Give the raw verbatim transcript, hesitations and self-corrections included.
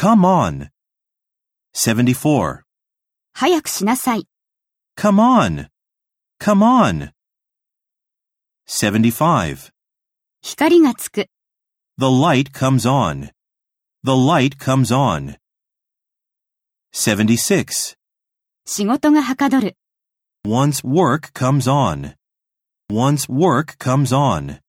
Come on. seventy-four. 早くしなさい。 Come on. Come on. seventy-five. 光がつく。 The light comes on. The light comes on. seventy-six. 仕事がはかどる。 Once work comes on. Once work comes on.